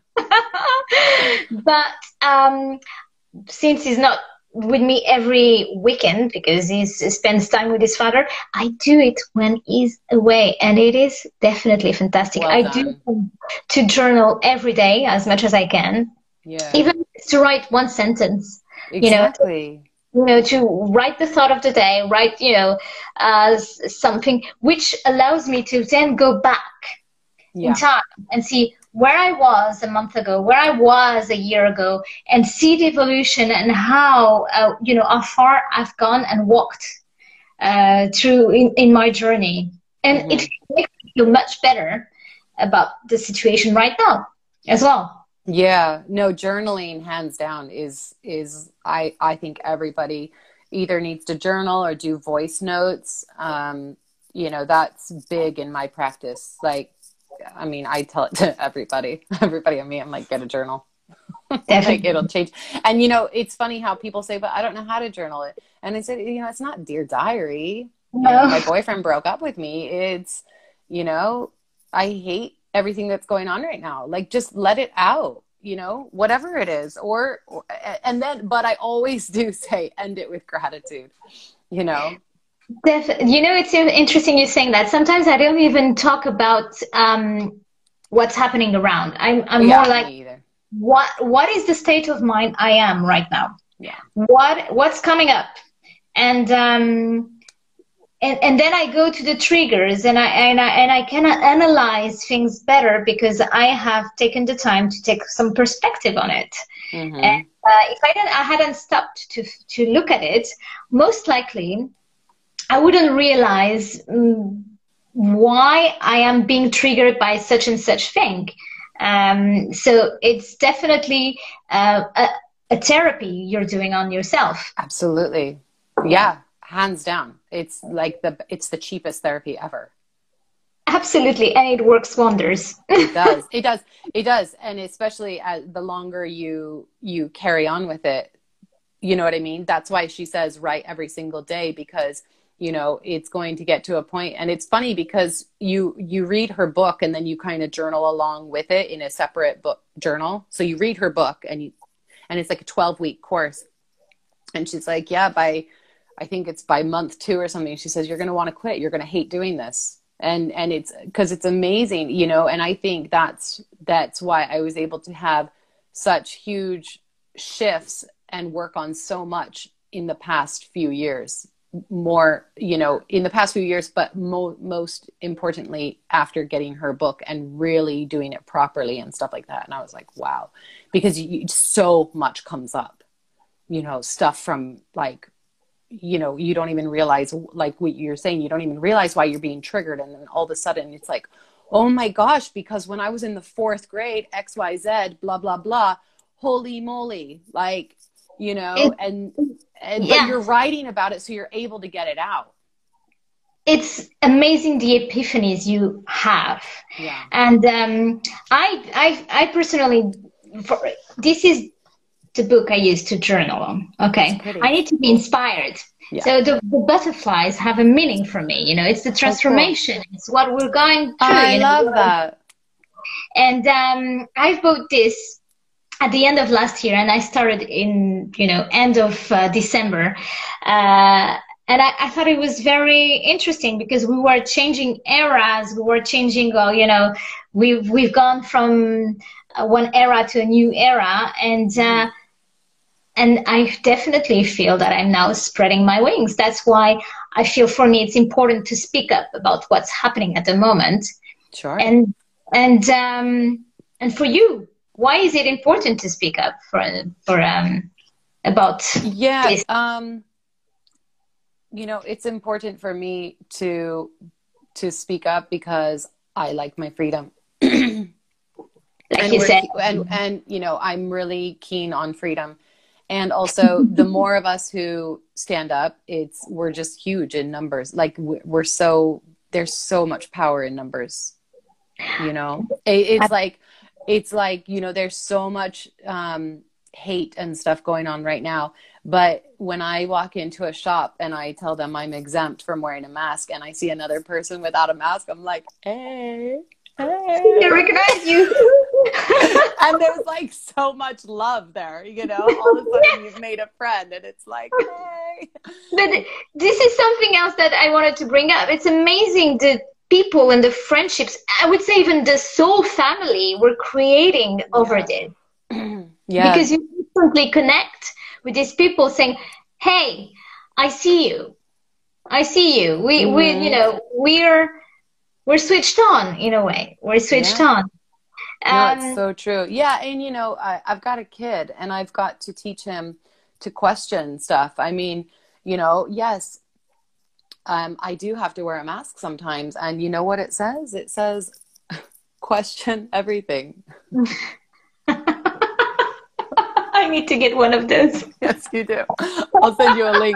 But since he's not with me every weekend because he spends time with his father, I do it when he's away, and it is definitely fantastic. Well I done. do to journal every day as much as I can. Yeah. Even to write one sentence. Exactly. To write the thought of the day, write something which allows me to then go back in time and see where I was a month ago, where I was a year ago, and see the evolution and how, how far I've gone and walked through in my journey. And it makes me feel much better about the situation right now as well. Yeah, no, journaling hands down is I think everybody either needs to journal or do voice notes. That's big in my practice. Like, I mean, I tell it to everybody I meet, I'm like, get a journal. Like it'll change. And it's funny how people say, but I don't know how to journal it. And I said, it's not Dear Diary. No. My boyfriend broke up with me. It's, I hate everything that's going on right now. Like, just let it out, whatever it is. But I always do say, end it with gratitude, It's interesting you saying that. Sometimes I don't even talk about what's happening around. I'm more like, what is the state of mind I am right now? Yeah. What's coming up? And then I go to the triggers and I can analyze things better because I have taken the time to take some perspective on it. Mm-hmm. And if I hadn't stopped to look at it, most likely I wouldn't realize why I am being triggered by such and such thing. So it's definitely a therapy you're doing on yourself. Absolutely. Yeah, hands down. It's like it's the cheapest therapy ever. Absolutely. And it works wonders. It does. And especially as the longer you carry on with it, you know what I mean? That's why she says write every single day, because it's going to get to a point. And it's funny because you read her book and then you kind of journal along with it in a separate book journal. So you read her book and it's like a 12-week course. And she's like, I think it's by month 2 or something. She says, you're going to want to quit. You're going to hate doing this. And it's because it's amazing, and I think that's why I was able to have such huge shifts and work on so much in the past few years. more, you know, in the past few years, but most importantly, after getting her book and really doing it properly and stuff like that. And I was like, wow, because so much comes up, you know, stuff from like, you know, you don't even realize, like what you're saying, you don't even realize why you're being triggered. And then all of a sudden it's like, oh my gosh, because when I was in the 4th grade, XYZ, blah, blah, blah, holy moly, like, you know, and but you're writing about it, so you're able to get it out. It's amazing the epiphanies you have. Yeah. And I personally, this is the book I use to journal on. Okay. I need to be inspired. Yeah. So the butterflies have a meaning for me. You know, it's the transformation. Oh, cool. It's what we're going through. I love that. And I bought this at the end of last year, and I started in, you know, end of December. And I thought it was very interesting because we were changing eras. We were changing, you know, we've gone from one era to a new era. And I definitely feel that I'm now spreading my wings. That's why I feel for me it's important to speak up about what's happening at the moment. Sure. And for you, why is it important to speak up about this? You know, it's important for me to speak up because I like my freedom. Like you said. And you know, I'm really keen on freedom. And also the more of us who stand up, we're just huge in numbers. Like there's so much power in numbers, you know, it's like, you know, there's so much, hate and stuff going on right now. But when I walk into a shop and I tell them I'm exempt from wearing a mask and I see another person without a mask, I'm like, hey. I recognize you. And there's like so much love there, you know, all of a sudden you've made a friend and it's like, hey. But this is something else that I wanted to bring up. It's amazing the people and the friendships, I would say even the soul family we're creating over this. Yeah. Because you instantly connect with these people saying, hey, I see you. I see you. We you know, we're switched on in a way. We're switched on. No, it's so true. Yeah. And, you know, I've got a kid and I've got to teach him to question stuff. I mean, you know, yes, I do have to wear a mask sometimes. And you know what it says? It says, question everything. I need to get one of those. Yes, you do. I'll send you a link.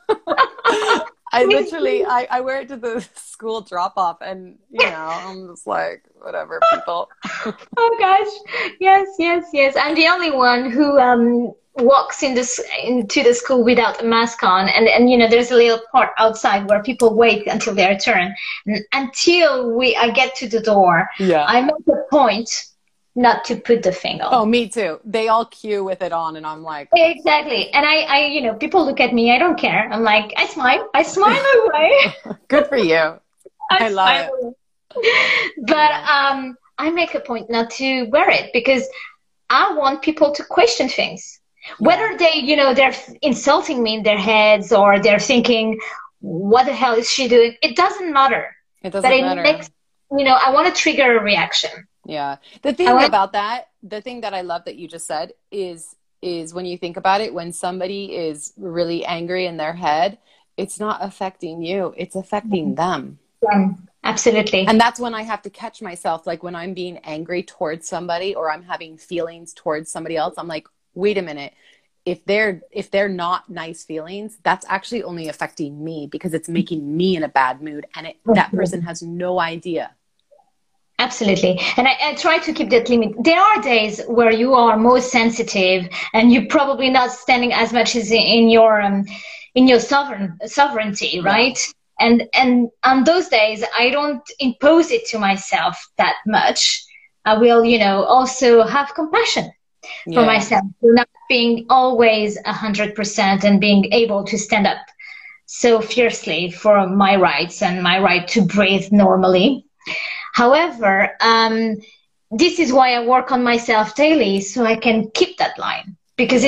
I literally, I wear it to the school drop-off and, you know, I'm just like, whatever, people. Oh, gosh. Yes. I'm the only one who walks into the school without a mask on. And you know, there's a little part outside where people wait until their turn. And until I get to the door, I make a point not to put the thing on. Oh, me too. They all queue with it on and I'm like. Exactly. And I you know, people look at me, I don't care. I'm like, I smile away. Good for you. I love it. But I make a point not to wear it because I want people to question things. Whether they, you know, they're insulting me in their heads or they're thinking, what the hell is she doing? It doesn't matter. It doesn't matter. Makes, you know, I want to trigger a reaction. Yeah. The thing about that, the thing that I love that you just said is when you think about it, when somebody is really angry in their head, it's not affecting you, it's affecting them. Yeah, absolutely. And that's when I have to catch myself. Like when I'm being angry towards somebody or I'm having feelings towards somebody else, I'm like, wait a minute. If they're not nice feelings, that's actually only affecting me because it's making me in a bad mood. And that person has no idea. Absolutely. And I try to keep that limit. There are days where you are most sensitive and you're probably not standing as much as in your sovereignty, right? And on those days, I don't impose it to myself that much. I will, you know, also have compassion for myself, not being always 100% and being able to stand up so fiercely for my rights and my right to breathe normally. However, this is why I work on myself daily, so I can keep that line, because it's important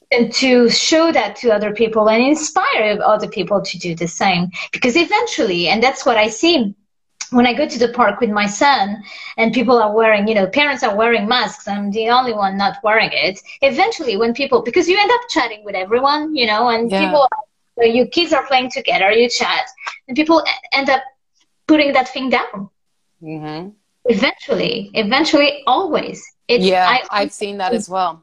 and to show that to other people and inspire other people to do the same. Because eventually, and that's what I see when I go to the park with my son and people are wearing, parents are wearing masks, I'm the only one not wearing it. Eventually, when people, because you end up chatting with everyone, and people, your kids are playing together, you chat, and people end up putting that thing down. Mm-hmm. Eventually, always. I've seen that as well.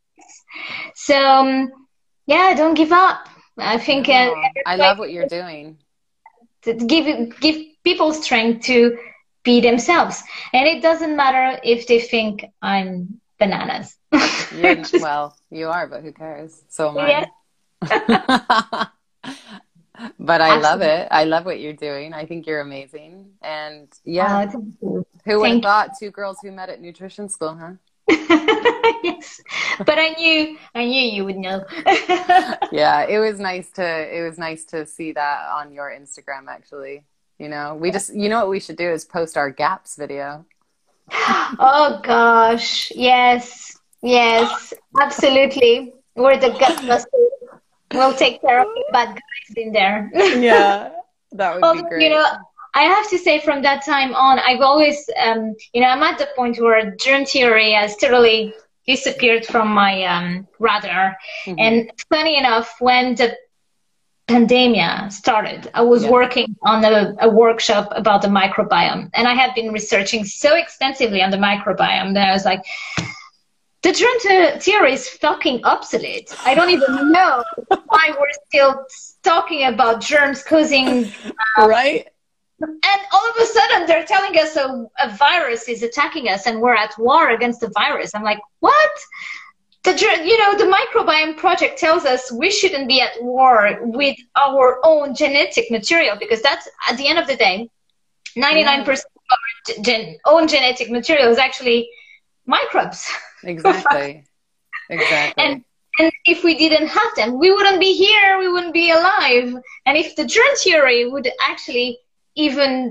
So, don't give up. I think I love what you're doing. Give people strength to be themselves, and it doesn't matter if they think I'm bananas. Well, you are, but who cares? So am I. But I love it. I love what you're doing. I think you're amazing. And who would have thought 2 girls who met at nutrition school, huh? Yes, but I knew you would know. Yeah, it was nice to see that on your Instagram, actually. We just, what we should do is post our gaps video. Oh gosh, yes, absolutely. We're the gut busters. We'll take care of the bad guys in there. Yeah, that would be great. I have to say, from that time on, I've always, I'm at the point where germ theory has totally disappeared from my radar. Mm-hmm. And funny enough, when the pandemic started, I was working on a workshop about the microbiome, and I had been researching so extensively on the microbiome that I was like, the germ theory is fucking obsolete. I don't even know why we're still talking about germs causing... right? And all of a sudden, they're telling us a virus is attacking us and we're at war against the virus. I'm like, what? The microbiome project tells us we shouldn't be at war with our own genetic material, because that's, at the end of the day, 99% of our own genetic material is actually microbes. Exactly. And if we didn't have them, we wouldn't be here, we wouldn't be alive. And if the germ theory would actually even,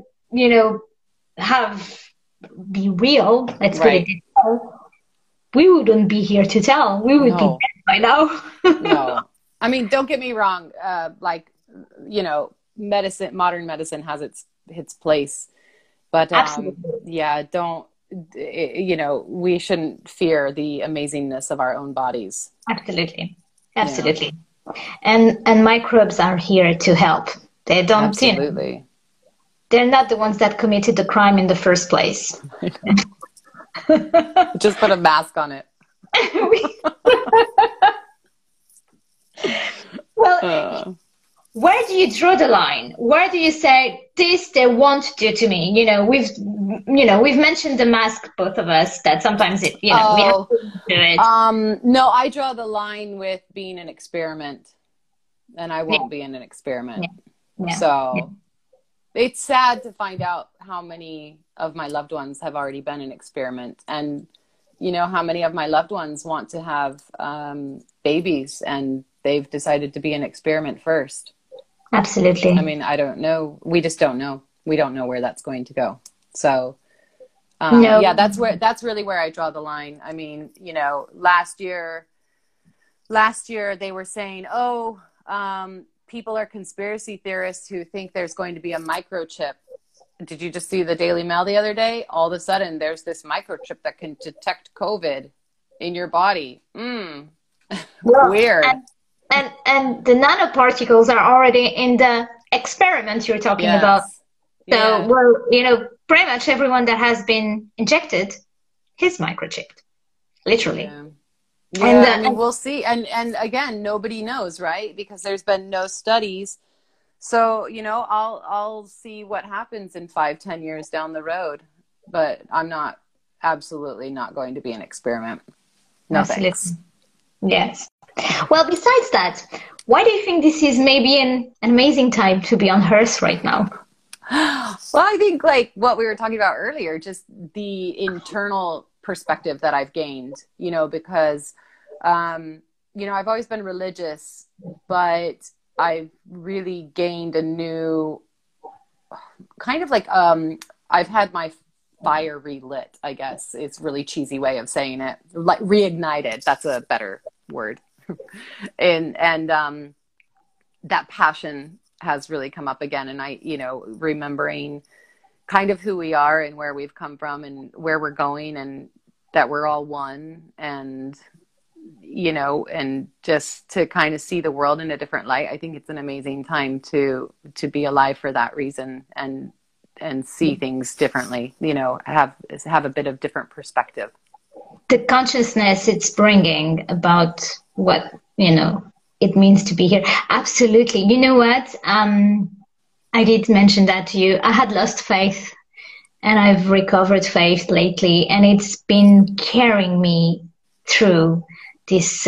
be real, let's put it this way, we wouldn't be here to tell. We would be dead by now. No. I mean, don't get me wrong. Modern medicine has its place. But, we shouldn't fear the amazingness of our own bodies. Absolutely. And microbes are here to help. They don't, absolutely. They're not the ones that committed the crime in the first place. Just put a mask on it. Well, where do you draw the line? Where do you say, this they won't do to me? We've mentioned the mask, both of us, that sometimes we have to do it. No, I draw the line with being an experiment, and I won't be in an experiment. It's sad to find out how many of my loved ones have already been an experiment, and how many of my loved ones want to have babies, and they've decided to be an experiment first. Absolutely. I mean, I don't know. We just don't know. We don't know where that's going to go. So, that's really where I draw the line. I mean, last year they were saying, people are conspiracy theorists who think there's going to be a microchip. Did you just see the Daily Mail the other day? All of a sudden, there's this microchip that can detect COVID in your body. Weird. And the nanoparticles are already in the experiment you're talking about. So, pretty much everyone that has been injected is microchipped, literally. And we'll see. And again, nobody knows, right? Because there's been no studies. So, I'll see what happens in 5-10 years down the road. But I'm absolutely not going to be an experiment. No thanks. Yes. Well, besides that, why do you think this is maybe an amazing time to be on Earth right now? Well, I think like what we were talking about earlier, just the internal perspective that I've gained, because, I've always been religious, but I've really gained a new kind of like, I've had my fire relit, I guess. It's a really cheesy way of saying it. Like reignited. That's a better word. And that passion has really come up again. And I, remembering kind of who we are and where we've come from and where we're going, and that we're all one, and and just to kind of see the world in a different light. I think it's an amazing time to be alive for that reason, and see things differently, have a bit of different perspective. The consciousness it's bringing about what, it means to be here. Absolutely. You know what? I did mention that to you. I had lost faith, and I've recovered faith lately, and it's been carrying me through this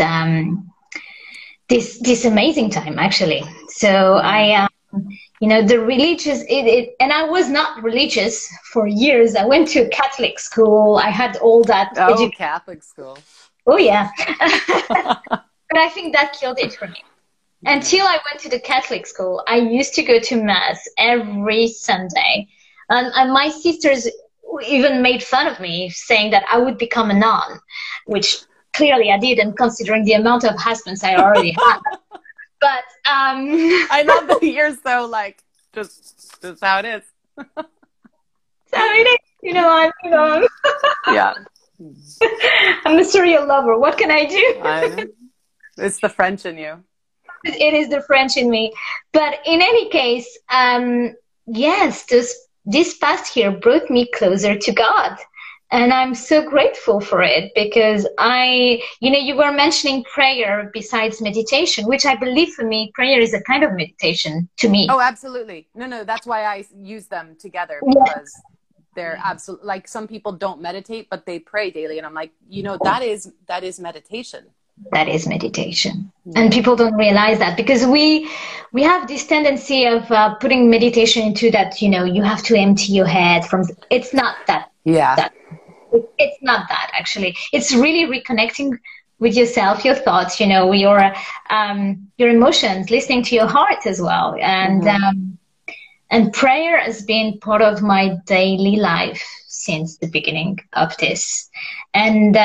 this amazing time, actually. So I the religious, and I was not religious for years. I went to a Catholic school. I had all that. Catholic school. Oh, yeah. But I think that killed it for me. Until I went to the Catholic school, I used to go to Mass every Sunday. And my sisters even made fun of me, saying that I would become a nun, which clearly I didn't, considering the amount of husbands I already had. But I love that you're so like, just how it is. So it is, I'm yeah. I'm a serial lover. What can I do? It's the French in you. It is the French in me. But in any case, yes, this past year brought me closer to God. And I'm so grateful for it, because you were mentioning prayer besides meditation, which I believe for me, prayer is a kind of meditation to me. Oh, absolutely. No, that's why I use them together, because they're absolutely, like, some people don't meditate, but they pray daily. And I'm like, that is meditation. That is meditation. And people don't realize that, because we have this tendency of putting meditation into that, you have to empty your head from, it's not that. Yeah. It's not that, actually. It's really reconnecting with yourself, your thoughts, your emotions, listening to your heart as well. And prayer has been part of my daily life since the beginning of this. And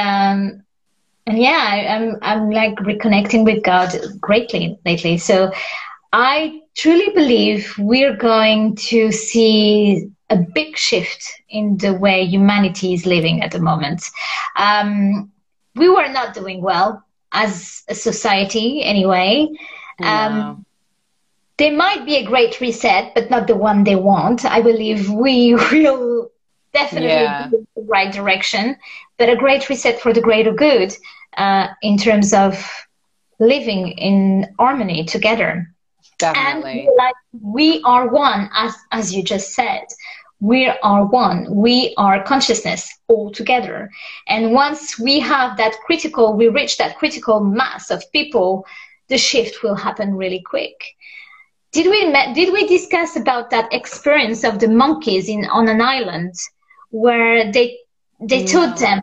yeah, I'm like reconnecting with God greatly lately. So I truly believe we're going to see a big shift in the way humanity is living at the moment. We were not doing well as a society anyway. No. There might be a great reset, but not the one they want. I believe we will definitely go in the right direction, but a great reset for the greater good, in terms of living in harmony together. Definitely. And like, we are one, as you just said. We are one. We are consciousness all together. And once we reach that critical mass of people, the shift will happen really quick. Did we discuss about that experience of the monkeys on an island, where they taught them?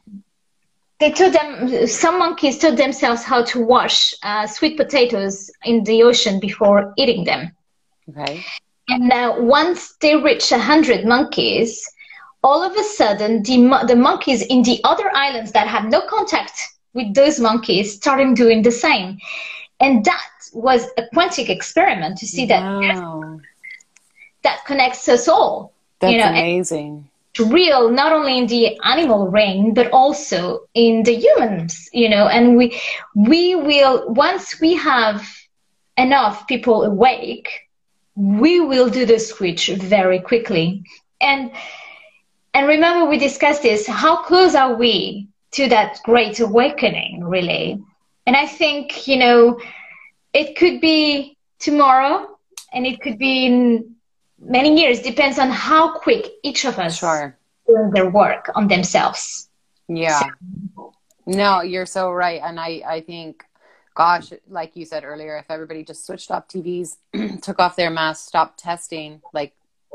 Some monkeys taught themselves how to wash sweet potatoes in the ocean before eating them. Okay. And once they reach 100 monkeys, all of a sudden, the monkeys in the other islands that had no contact with those monkeys started doing the same. And that was a quantic experiment to see that connects us all. That's amazing. Real, not only in the animal realm, but also in the humans, and we will, once we have enough people awake, we will do the switch very quickly. And remember, we discussed this, how close are we to that great awakening, really? And I think, it could be tomorrow, and it could be in many years. Depends on how quick each of us do their work on themselves. Yeah. So. No, you're so right. And I think, gosh, like you said earlier, if everybody just switched off TVs, took off their masks, stopped testing, like,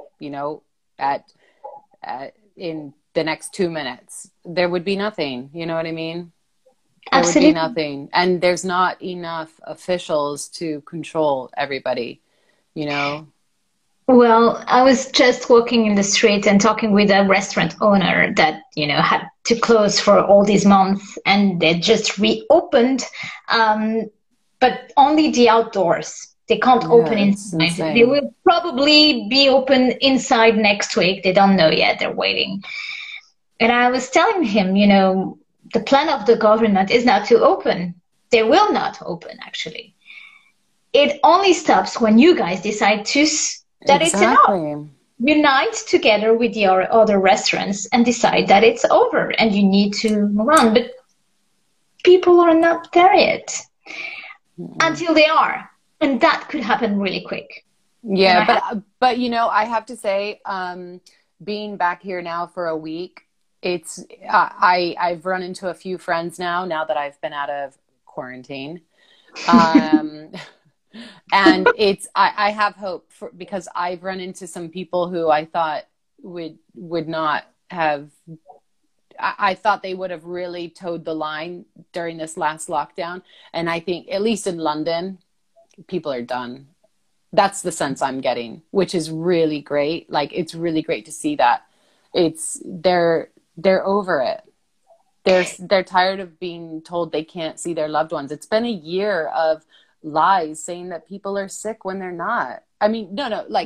in the next 2 minutes, there would be nothing. You know what I mean? There would be nothing. And there's not enough officials to control everybody, Well, I was just walking in the street and talking with a restaurant owner that, had to close for all these months, and they just reopened but only the outdoors. They can't open Yeah, it's inside. They insane. will probably be open inside next week. They don't know yet. They're waiting. And I was telling him, the plan of the government is not to open. They will not open, actually. It only stops when you guys decide that it's enough. Exactly. Unite together with the other restaurants and decide that it's over and you need to run. But people are not there yet until they are. And that could happen really quick. Yeah, but I have to say, being back here now for a week, I've run into a few friends now that I've been out of quarantine. And I have hope because I've run into some people who I thought would not have, I thought they would have really towed the line during this last lockdown. And I think, at least in London, people are done. That's the sense I'm getting, which is really great. Like, it's really great to see that. They're over it. They're tired of being told they can't see their loved ones. It's been a year of lies saying that people are sick when they're not. I mean, no, like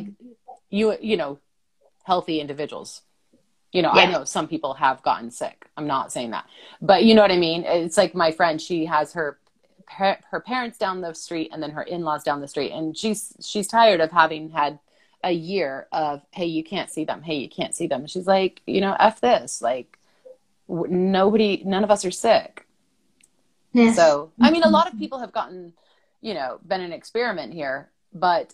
healthy individuals. Yeah. I know some people have gotten sick. I'm not saying that, but you know what I mean? It's like my friend, she has her parents down the street and then her in-laws down the street. And she's tired of having had a year of, hey, you can't see them. Hey, you can't see them. And she's like, F this, like none of us are sick. Yes. So, I mean, a lot of people have gotten, been an experiment here, but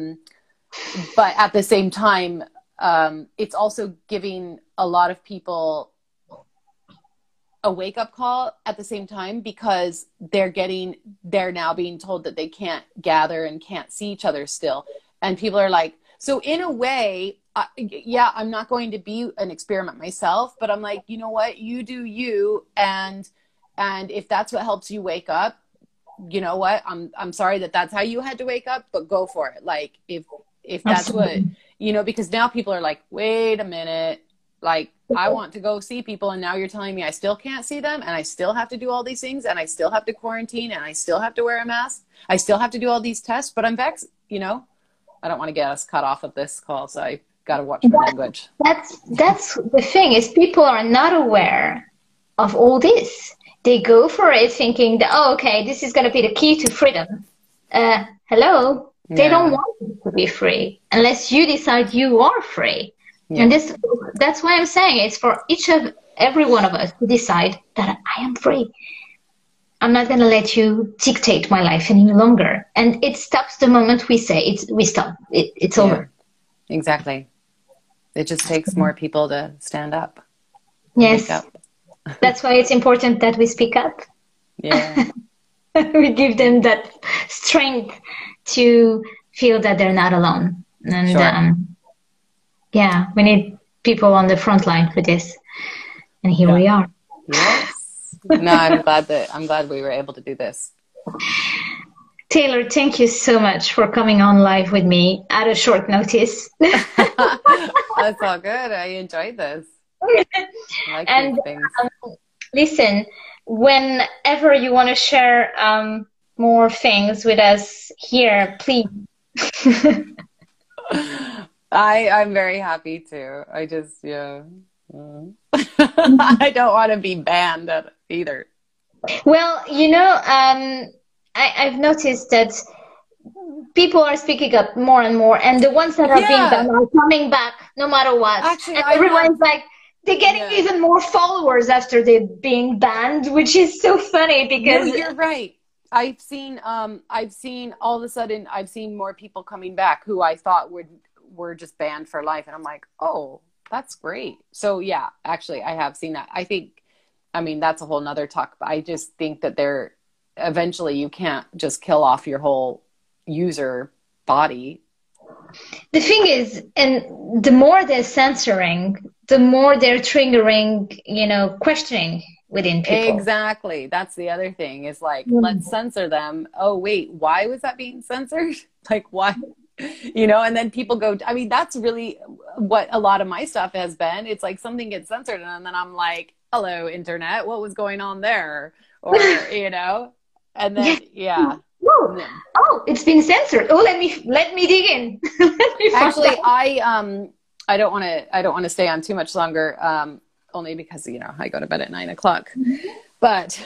at the same time, it's also giving a lot of people a wake-up call at the same time, because they're now being told that they can't gather and can't see each other still. And people are like, so in a way, yeah, I'm not going to be an experiment myself, but I'm like, you know what, you do you. And if that's what helps you wake up, you know what, I'm sorry that's how you had to wake up, but go for it. Like, if that's Absolutely. what, because now people are like, wait a minute, like, I want to go see people, and now you're telling me I still can't see them, and I still have to do all these things, and I still have to quarantine, and I still have to wear a mask. I still have to do all these tests, but I'm vaccinated. I don't want to get us cut off of this call, so I got to watch my language. That's the thing, is people are not aware of all this. They go for it thinking that, oh, okay, this is going to be the key to freedom. Hello? They Yeah. don't want it to be free unless you decide you are free. Yeah. And that's why I'm saying it's for every one of us to decide that I am free. I'm not going to let you dictate my life any longer. And it stops the moment we say we stop. It's over. Exactly. It just takes more people to stand up. Yes. Wake up. That's why it's important that we speak up. Yeah. We give them that strength to feel that they're not alone. And Sure. yeah, we need people on the front line for this. And here we are. Yes. No, I'm glad we were able to do this. Taylor, thank you so much for coming on live with me at a short notice. That's all good. I enjoyed this. I like these things. Listen, whenever you want to share more things with us here, please. I'm very happy to. I just, I don't want to be banned either. Well, I've noticed that people are speaking up more and more, and the ones that are being banned are coming back no matter what. Actually, and everyone's like, they're getting even more followers after they're being banned, which is so funny because... No, you're right. I've seen all of a sudden, I've seen more people coming back who I thought were just banned for life. And I'm like, oh, that's great. So yeah, actually I have seen that. I mean, that's a whole nother talk, but I just think that eventually you can't just kill off your whole user body. The thing is, and the more they're censoring, the more they're triggering, questioning within people. Exactly. That's the other thing is like, let's censor them. Oh, wait, why was that being censored? Like, why? And then people go, I mean, that's really what a lot of my stuff has been. It's like something gets censored and then I'm like, hello, internet, what was going on there? Or, and then, No, Oh, oh, it's been censored. Oh, let me dig in. Let me find Actually, out. I don't want to stay on too much longer, only because, you know, I go to bed at 9 o'clock. But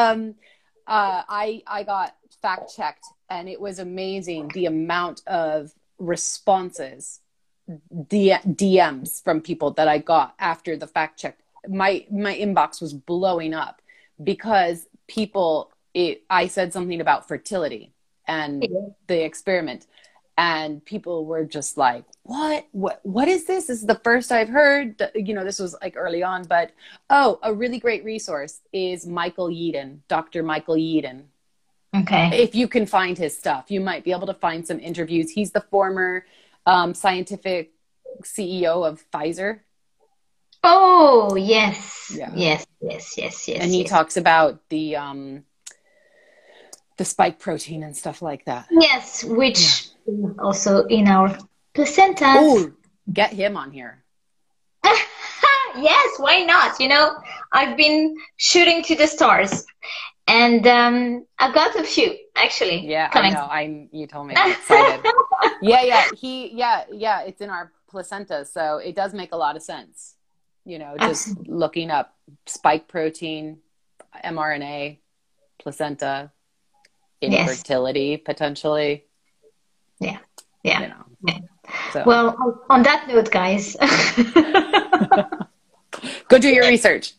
I got fact checked, and it was amazing the amount of responses, DMs from people that I got after the fact check. My inbox was blowing up because I said something about fertility and the experiment, and people were just like, what is this? This is the first I've heard. You know, this was like early on, but a really great resource is Michael Yeadon, Dr. Michael Yeadon. Okay. If you can find his stuff, you might be able to find some interviews. He's the former scientific CEO of Pfizer. Oh, yes. Yeah. Yes. And he talks about the spike protein and stuff like that. Yes, which also in our placentas. Oh, get him on here. Yes, why not? You know, I've been shooting to the stars, and I've got a few actually. Yeah, coming. I know. You told me. I'm excited. Yeah. It's in our placenta, so it does make a lot of sense. You know, just looking up spike protein, mRNA, placenta, infertility potentially. Yeah. You know. Yeah. So. Well, on that note, guys. Go do your research.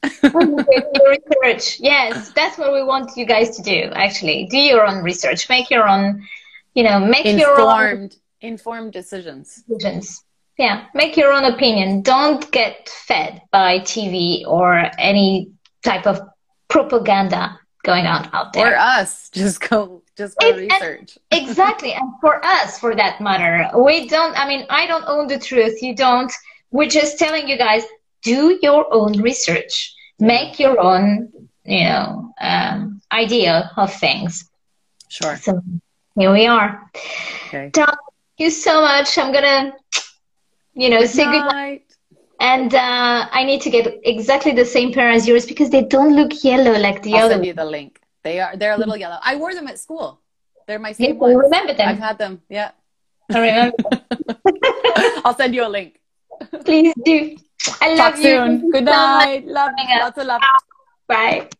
Yes, that's what we want you guys to do, actually. Do your own research. Make your own, you know, informed decisions. Yeah, make your own opinion. Don't get fed by TV or any type of propaganda going on out there. Or us. Just go research. Exactly. And for us, for that matter, I don't own the truth. You don't. We're just telling you guys, do your own research. Make your own, you know, idea of things. Sure. So here we are. Okay. Tom, thank you so much. I'm going to, you know, say goodnight. And I need to get exactly the same pair as yours because they don't look yellow like the other. I'll send you the link. They're a little yellow. I wore them at school. They're my same ones. I remember them. I've had them. Yeah. I remember them. I'll send you a link. Please do. I love Talk soon. Good night. Love. Lots of love. Bye.